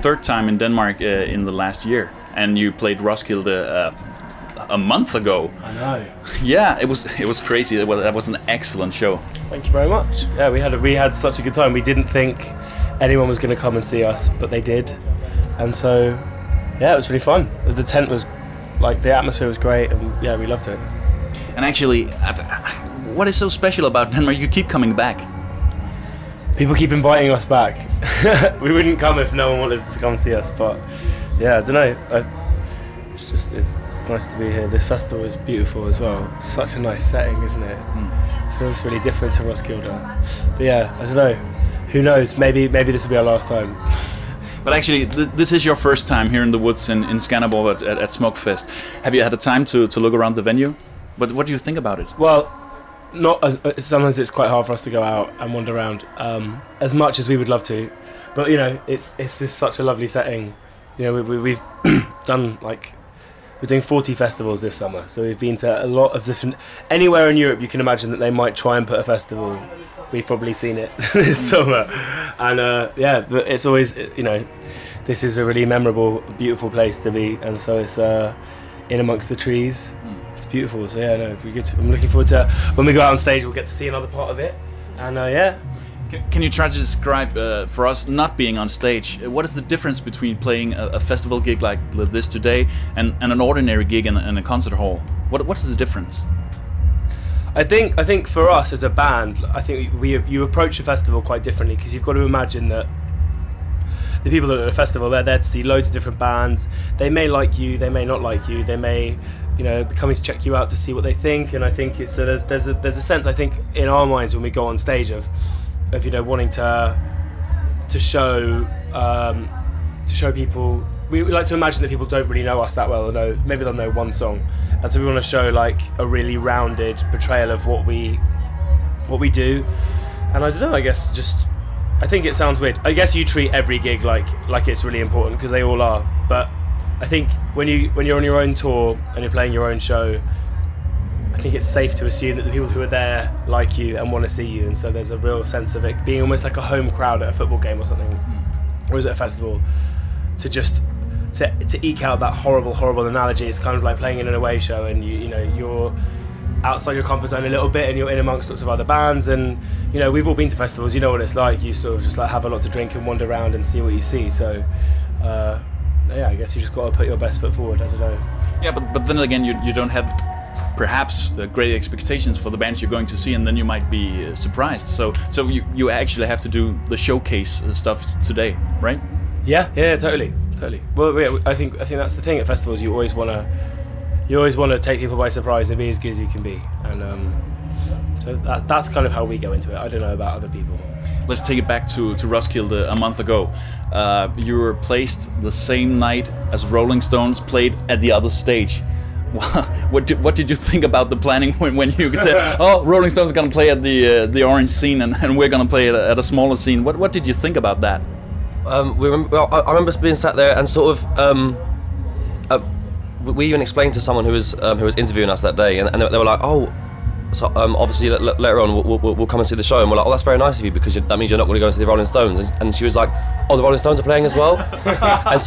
third time in Denmark in the last year, and you played Roskilde a month ago. I know. Yeah, it was crazy. That was an excellent show. Thank you very much. Yeah, we had such a good time. We didn't think anyone was going to come and see us, but they did, and so yeah, it was really fun. The tent was like, the atmosphere was great, and yeah, we loved it. And actually, what is so special about Denmark? You keep coming back. People keep inviting us back. We wouldn't come if no one wanted to come see us, but yeah, I don't know. It's nice to be here. This festival is beautiful as well. It's such a nice setting, isn't it? It feels really different to Roskilde. But yeah, I don't know. Who knows? Maybe this will be our last time. But actually, this is your first time here in the woods in Skanderborg at Smukfest. Have you had a time to look around the venue? What do you think about it? Well, sometimes it's quite hard for us to go out and wander around as much as we would love to. But you know, it's this such a lovely setting. You know, we've done we're doing 40 festivals this summer, so we've been to a lot of different. Anywhere in Europe you can imagine that they might try and put a festival, we've probably seen it this summer. And yeah, but it's always, you know, this is a really memorable, beautiful place to be, and so it's in amongst the trees. It's beautiful, so yeah, no, it'll be good. I'm looking forward to when we go out on stage, we'll get to see another part of it, and yeah. Can you try to describe for us, not being on stage, what is the difference between playing a festival gig like this today and an ordinary gig in a concert hall? What's the difference? I think for us as a band, I think you approach a festival quite differently, because you've got to imagine that the people that are at a festival, they're there to see loads of different bands. They may like you, they may not like you, they may, you know, be coming to check you out to see what they think. And I think it's, so there's a sense, I think, in our minds when we go on stage of you know, wanting to show people. We like to imagine that people don't really know us that well, or maybe they'll know one song, and so we want to show like a really rounded portrayal of what we do. And I don't know, I guess I think it sounds weird. I guess you treat every gig like it's really important, because they all are. But I think when you're on your own tour and you're playing your own show, I think it's safe to assume that the people who are there like you and want to see you, and so there's a real sense of it being almost like a home crowd at a football game or something, or is it a festival? To eke out that horrible analogy, it's kind of like playing in an away show, and you know you're outside your comfort zone a little bit, and you're in amongst lots of other bands, and you know we've all been to festivals. You know what it's like. You sort of just like have a lot to drink and wander around and see what you see. So yeah, I guess you just got to put your best foot forward. I don't know. Yeah, but then again, you don't have perhaps great expectations for the bands you're going to see, and then you might be surprised. So you actually have to do the showcase stuff today, right? Yeah, totally. Well, yeah, I think that's the thing at festivals. You always want to take people by surprise and be as good as you can be, and so that's kind of how we go into it. I don't know about other people. Let's take it back to Roskilde a month ago. You were placed the same night as Rolling Stones played at the other stage. What did you think about the planning when you said, oh, Rolling Stones are going to play at the orange scene and we're going to play at a smaller scene? What did you think about that? I remember being sat there and sort of we even explained to someone who was interviewing us that day, and they were like, oh, so obviously later on we'll come and see the show, and we're like, oh, that's very nice of you, because that means you're not going to go and see the Rolling Stones. And she was like, oh, the Rolling Stones are playing as well. and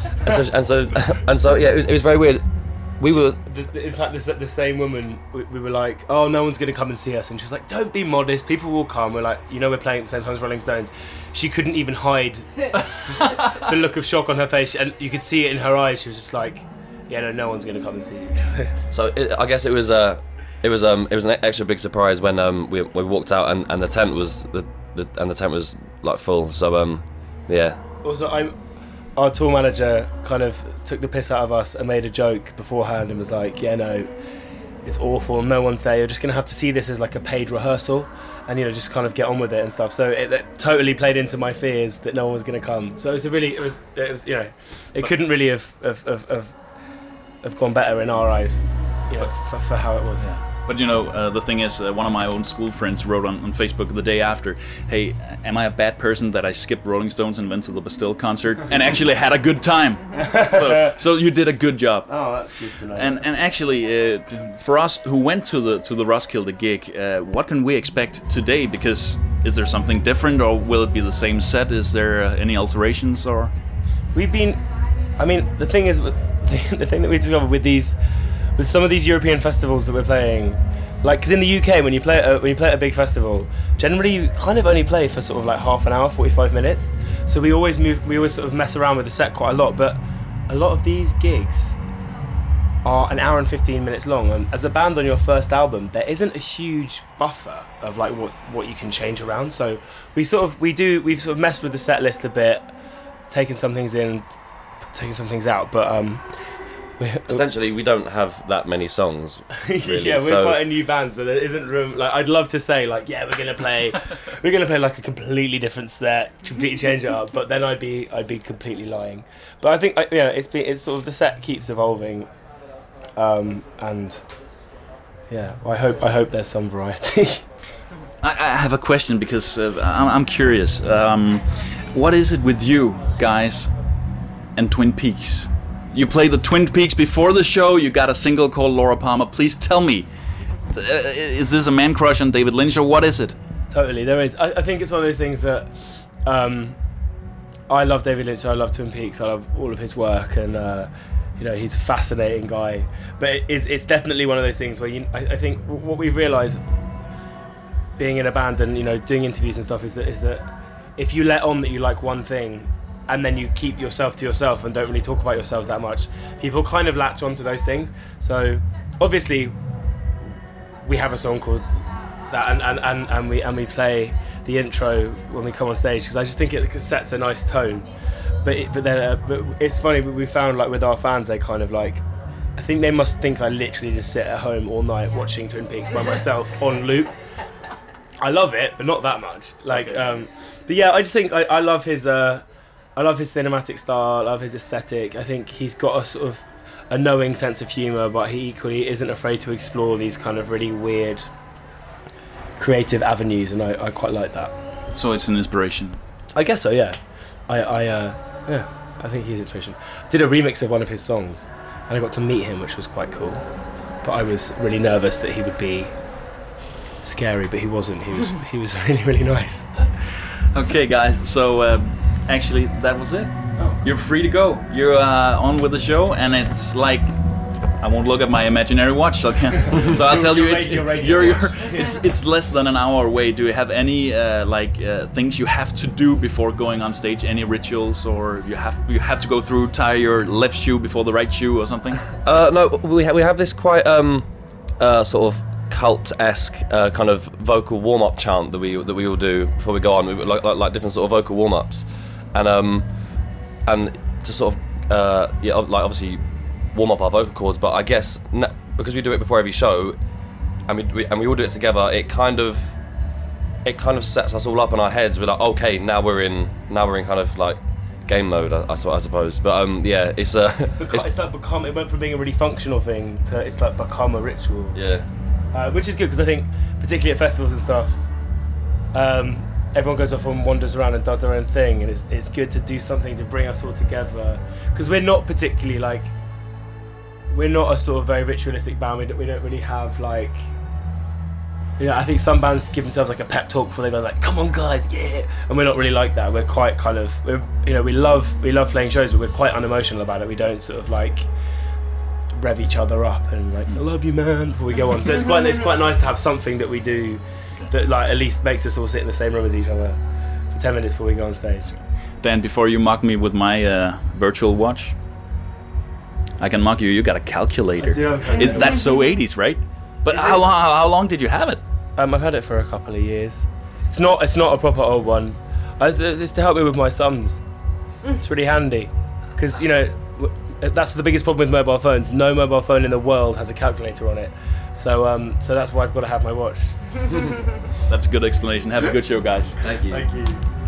so yeah, it was very weird. We were, in fact, the same woman. We were like, "Oh, no one's going to come and see us," and she's like, "Don't be modest. People will come." We're like, "You know, we're playing at the same time as Rolling Stones." She couldn't even hide the look of shock on her face, and you could see it in her eyes. She was just like, "Yeah, no one's going to come and see you." So I guess it was an extra big surprise when we walked out and the tent was the tent was like full. So yeah. Also, our tour manager kind of took the piss out of us and made a joke beforehand and was like, yeah, no, it's awful, no one's there, you're just going to have to see this as like a paid rehearsal and, you know, just kind of get on with it and stuff. So it totally played into my fears that no one was going to come. So it was you know, it couldn't really have gone better in our eyes, you know, for how it was. Yeah. But you know, the thing is, one of my own school friends wrote on Facebook the day after, hey, am I a bad person that I skipped Rolling Stones and went to the Bastille concert and actually had a good time? So you did a good job. Oh, that's good to know. And actually, for us who went to the Roskilde gig, what can we expect today? Because is there something different, or will it be the same set? Is there any alterations or? we've been. I mean, the thing is, the thing that we discovered with some of these European festivals that we're playing, like, because in the UK when you play at a big festival, generally you kind of only play for sort of like half an hour, 45 minutes. So we always sort of mess around with the set quite a lot. But a lot of these gigs are an hour and 15 minutes long. As a band on your first album, there isn't a huge buffer of like what you can change around. So we've sort of messed with the set list a bit, taken some things in, taking some things out, but essentially we don't have that many songs, really. Yeah, we're quite a new band, so there isn't room. Like, I'd love to say like, yeah, we're gonna play like a completely different set, completely change it up, but then I'd be completely lying. But I think it's sort of, the set keeps evolving, and yeah, I hope there's some variety. I have a question because I'm curious. What is it with you guys and Twin Peaks? You played the Twin Peaks before the show. You got a single called Laura Palmer. Please tell me, is this a man crush on David Lynch, or what is it? Totally, there is. I think it's one of those things that I love David Lynch. I love Twin Peaks. I love all of his work, and he's a fascinating guy. But it's definitely one of those things where I think what we've realised, being in a band and doing interviews and stuff, is that if you let on that you like one thing, and then you keep yourself to yourself and don't really talk about yourselves that much, people kind of latch onto those things. So obviously we have a song called that, and we play the intro when we come on stage, because I just think it sets a nice tone. But it's funny, we found like with our fans, they kind of like, I think they must think I literally just sit at home all night watching Twin Peaks by myself on loop. I love it, but not that much. Like, but yeah, I just think I love his cinematic style. I love his aesthetic. I think he's got a sort of a knowing sense of humour, but he equally isn't afraid to explore these kind of really weird, creative avenues, and I quite like that. So it's an inspiration. I guess so, yeah. I think he's inspiration. I did a remix of one of his songs, and I got to meet him, which was quite cool. But I was really nervous that he would be scary, but he wasn't. He was really, really nice. Okay, guys. So actually, that was it. Oh. You're free to go. You're on with the show, and it's like, I won't look at my imaginary watch, so I'll tell you, it's less than an hour away. Do you have any things you have to do before going on stage? Any rituals, or you have to go through, tie your left shoe before the right shoe, or something? No, we have this quite sort of cult-esque kind of vocal warm-up chant that we all do before we go on. We like different sort of vocal warm-ups, and to sort of obviously warm up our vocal cords. But I guess because we do it before every show, and we all do it together, it kind of sets us all up in our heads. We're like, okay, now we're in kind of like game mode, I suppose. But yeah, it's like become. It went from being a really functional thing to it's like become a ritual. Yeah. Which is good, because I think particularly at festivals and stuff, everyone goes off and wanders around and does their own thing, and it's good to do something to bring us all together, because we're not particularly like, we're not a sort of very ritualistic band. We don't really have like, I think some bands give themselves like a pep talk before they go like, come on guys, yeah, and we're not really like that. We're quite kind of, we love playing shows, but we're quite unemotional about it. We don't sort of like rev each other up and like, I love you man, before we go on. So it's quite nice to have something that we do that like at least makes us all sit in the same room as each other for 10 minutes before we go on stage. Dan, before you mock me with my virtual watch, I can mock you. You got a calculator. That's so 80s, right? But how long did you have it? I've had it for a couple of years. It's not a proper old one. It's to help me with my sums. It's really handy, because that's the biggest problem with mobile phones. No mobile phone in the world has a calculator on it. So that's why I've got to have my watch. That's a good explanation. Have a good show, guys. Thank you. Thank you.